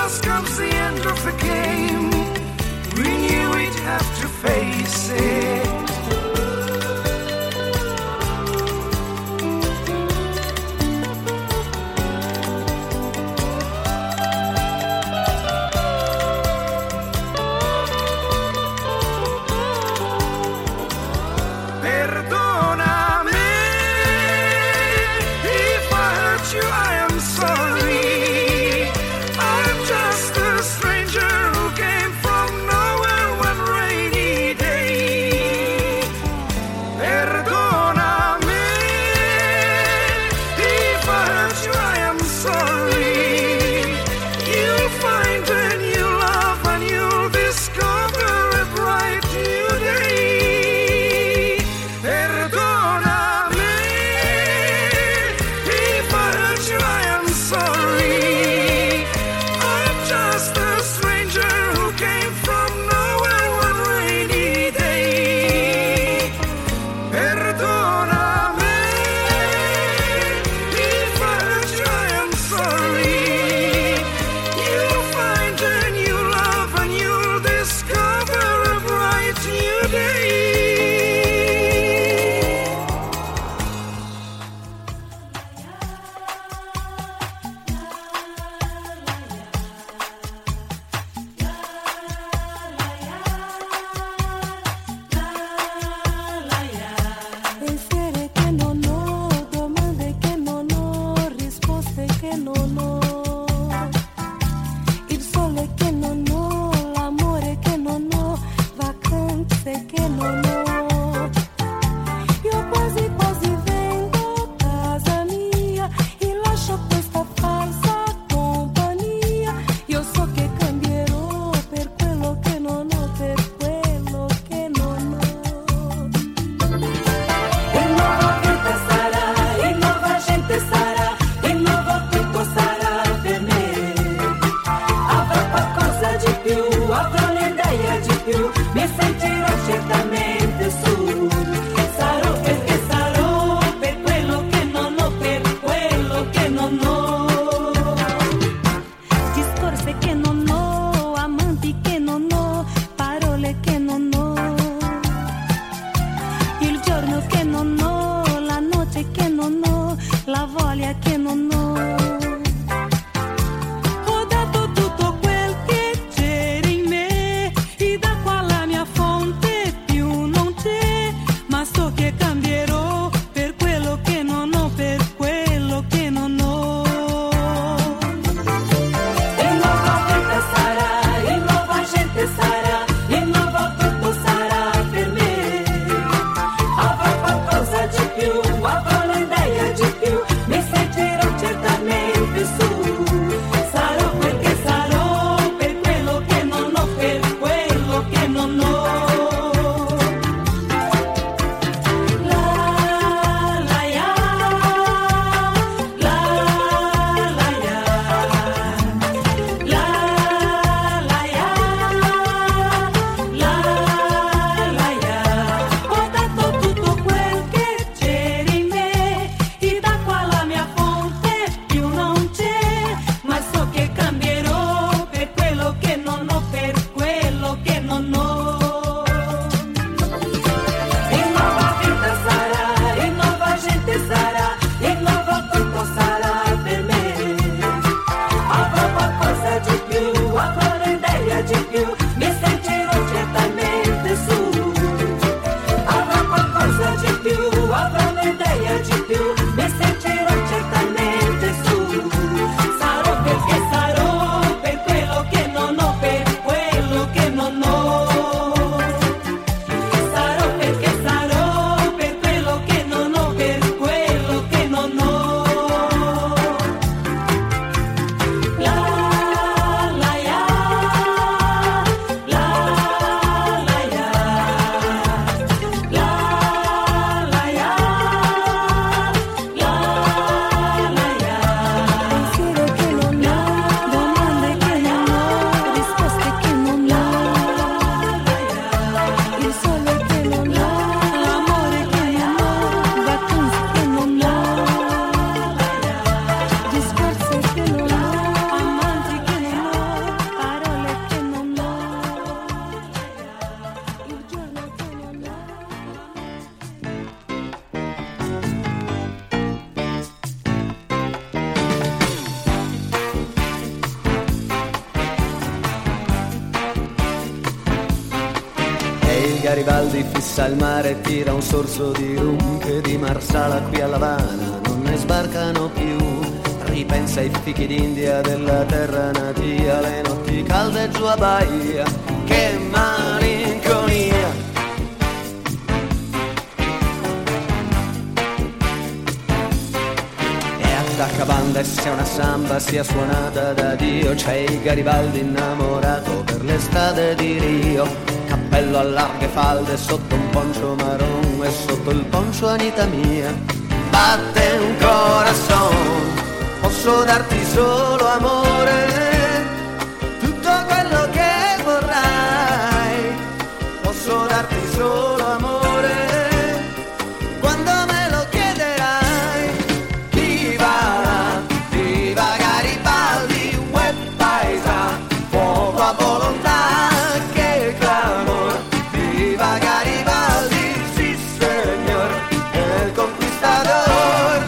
Q: last comes the end of the game. We knew we'd have to face it. Stranger who came from nowhere one rainy day.
R: Garibaldi fissa il mare e tira un sorso di rum che di Marsala qui a L'Avana non ne sbarcano più. Ripensa ai fichi d'India della terra natia, le notti calde giù a Bahia, che malinconia. Attacca banda e sia una samba sia suonata da Dio, c'è il Garibaldi innamorato per le strade di Rio. Cappello a larghe falde sotto un poncio marron e sotto il poncio Anita mia batte un corazon. Posso darti solo amore, tutto quello che vorrai. Posso darti solo amore, quando me lo chiederai. Viva Garibaldi, uè paesa, fuoco a volontà, che clamor. Viva Garibaldi, sì signor, el conquistador.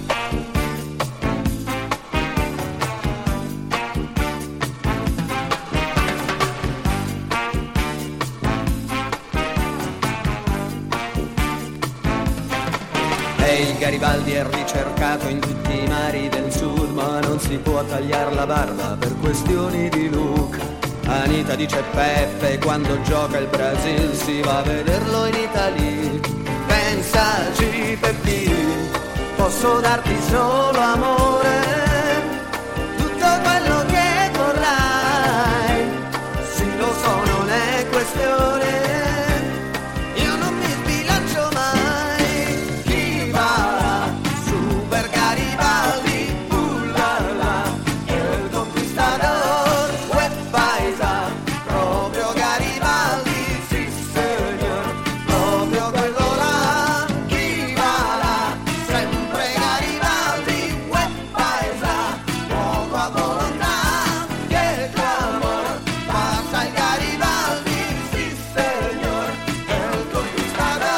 R: E il Garibaldi è ricercato in tutti i mari del sud, ma non si può tagliare la barba per questioni di look. Anita dice Peppe, quando gioca il Brasil si va a vederlo in Italia. Pensaci Peppi, posso darti solo amore, tutto quello che vorrai. Sì lo so, non è questione, io non mi sbilancio mai. Chi va su per Garibaldi, ullala, el conquistador, uè paesa, proprio Garibaldi, sì signor, proprio quello là. Chi va là, sempre Garibaldi, uè paesa, poco a volontà, che clamor, passa il Garibaldi, sì signor, el conquistador.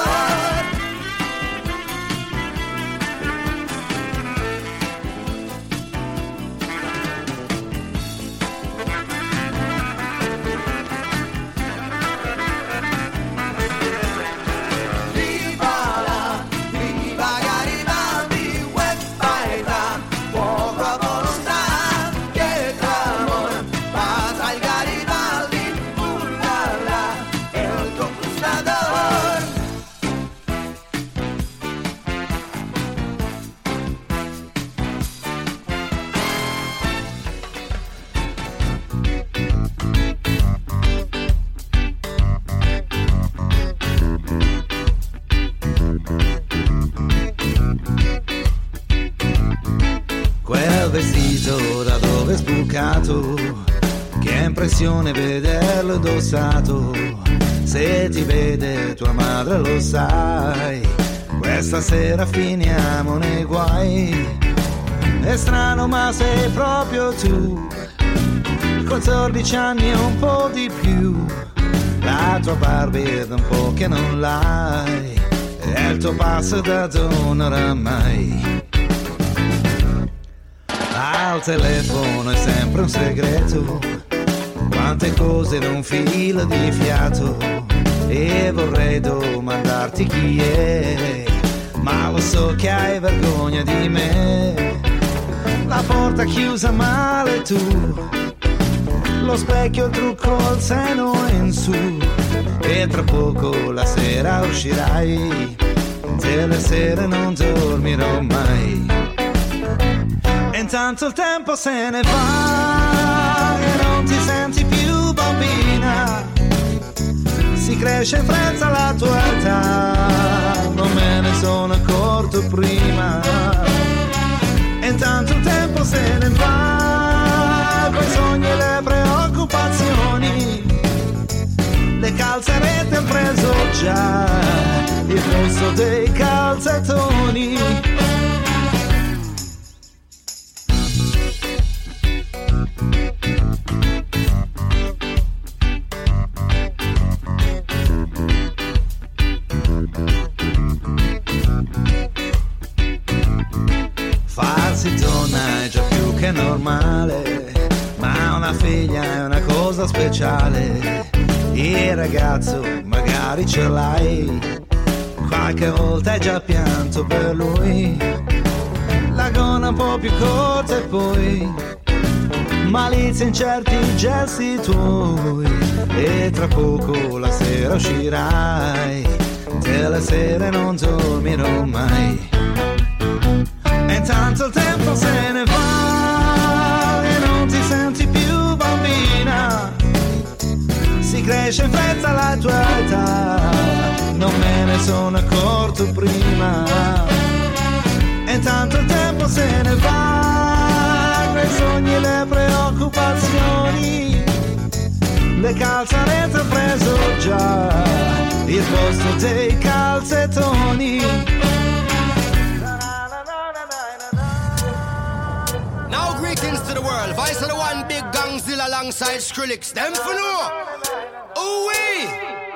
R: Viva Garibaldi, uè paesa, fuoco a volontà, che clamor, passa il Garibaldi, ullala, el conquistador.
S: Quel vestito da dove è sbucato, che impressione vederlo indossato. Se ti vede tua madre lo sai, questa sera finiamo nei guai. È strano ma sei proprio tu, 14 anni e un po' di più. La tua barba è da un po' che non l'hai, e il tuo passo da donna oramai. Al telefono è sempre un segreto, quante cose da un filo di fiato. E vorrei domandarti chi è, ma lo so che hai vergogna di me. La porta chiusa male tu, lo specchio, il trucco, il seno in su. E tra poco la sera uscirai, delle sere non dormirò mai. E intanto il tempo se ne va e non ti senti più bambina. Si cresce in fretta la tua età, non me ne sono accorto prima. E intanto il tempo se ne va, coi sogni e le preoccupazioni. Le calzarette han preso già il posto dei calzettoni. Farsi donna è già più che normale, ma una figlia è una cosa speciale. Il ragazzo magari magari ce l'hai, qualche volta hai già pianto per lui, la gonna un po' più corta e poi malizia in certi gesti tuoi, e tra poco la sera uscirai, delle sere non dormirò mai. E intanto il tempo se ne va e non ti senti più bambina, si cresce in fretta alla tua età, non me ne sono accorto prima. E intanto il tempo se ne va, quei sogni e le preoccupazioni, le calzarette ho preso già il posto dei calzettoni.
T: Now greetings to the world, voice of the one big Gangzilla alongside Skrillex, them for no. Ooh-wee!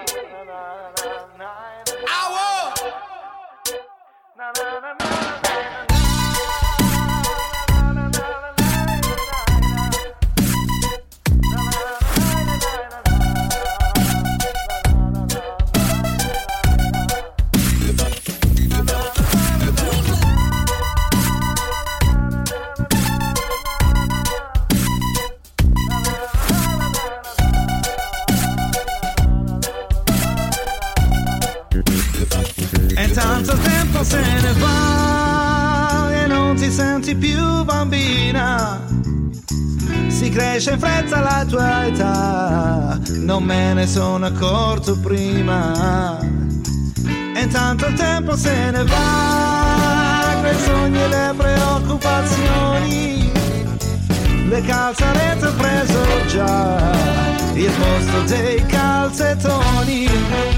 T: Ow!
S: Tanto tempo se ne va e non ti senti più bambina, si cresce in fretta la tua età, non me ne sono accorto prima. E intanto il tempo se ne va, quei sogni e le preoccupazioni, le calzarette ho preso già il posto dei calzettoni.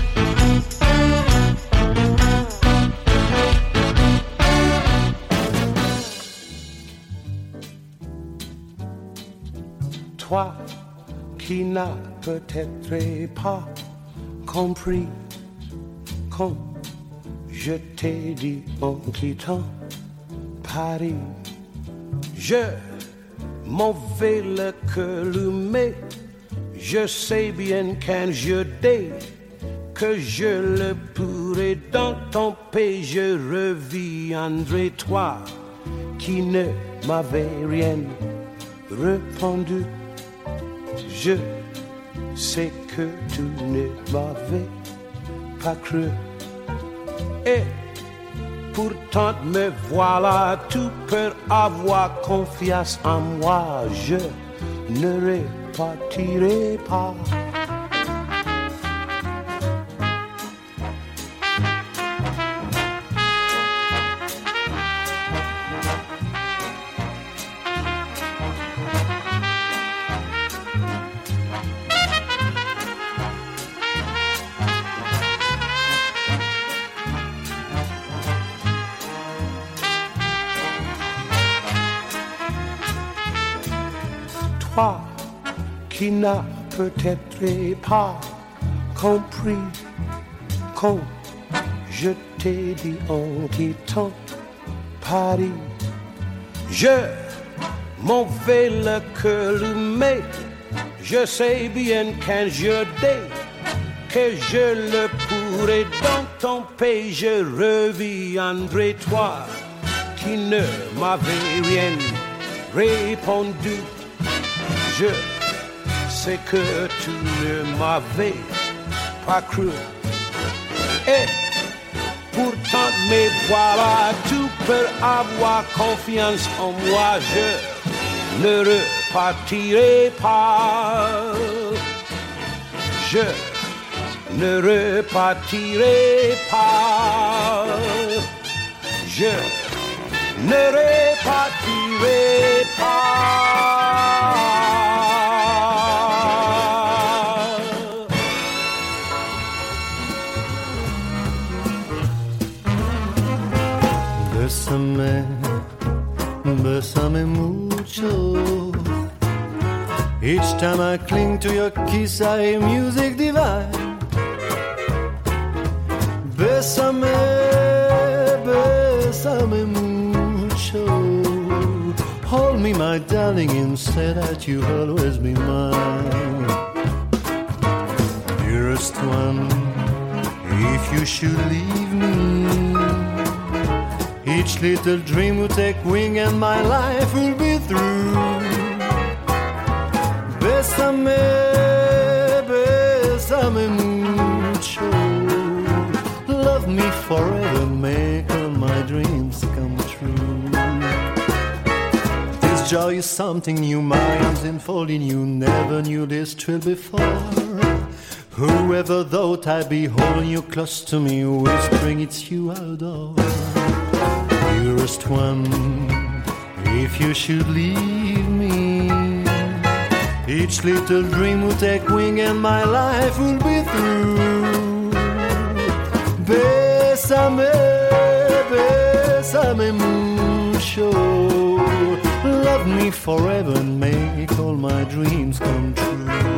I: Toi qui n'as peut-être pas compris quand je t'ai dit en quittant Paris, je m'en vais le cœur allumé, je sais bien qu'un jour dès que je le pourrai dans ton pays, je reviendrai. Toi qui ne m'avais rien répondu, je sais que tu ne m'avais pas cru. Et pourtant me voilà, tout pour avoir confiance en moi. Je ne repartirai pas. Toi qui n'as peut-être pas compris quand je t'ai dit en quittant Paris, je m'en vais le cœur allumé, je sais bien qu'un jour dès que je le pourrai dans ton pays, je reviendrai. Toi qui ne m'avais rien répondu, je sais que tu ne m'avais pas cru. Et pourtant me voilà, tout pour avoir confiance en moi. Je ne repartirai pas. Je ne repartirai pas. Je ne repartirai pas.
L: Bésame mucho. Each time I cling to your kiss, I hear music divine. Bésame, bésame mucho. Hold me, my darling, and say that you'll always be mine. Dearest one,
P: if you should leave me. Each little dream will take wing and my life will be through. Bésame, bésame mucho. Love me forever, make all my dreams come true. This joy is something new, my arms enfolding you. Never knew this thrill before. Whoever thought I'd be holding you close to me, whispering it's you I adore. Dearest one, if you should leave me, each little dream will take wing and my life will be through. Bésame, bésame mucho. Love me forever and make all my dreams come true.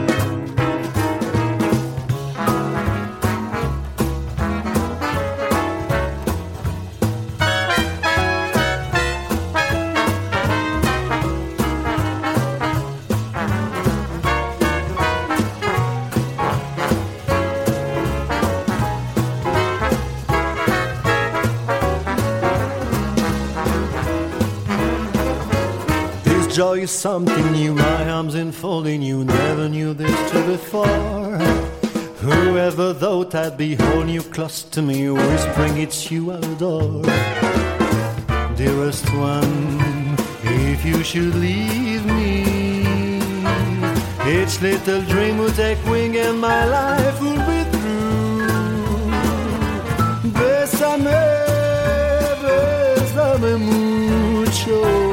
P: Joy is something new, my arms enfolding you. Never knew this till before. Whoever thought I'd be holding you close to me, whispering it's you I adore. Dearest one, if you should leave me, each little dream will take wing and my life will be through. Bésame, bésame mucho.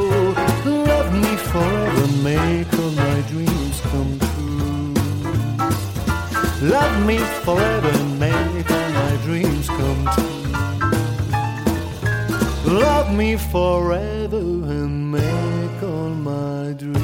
P: Forever make all my dreams come true. Love me forever and make all my dreams come true. Love me forever and make all my dreams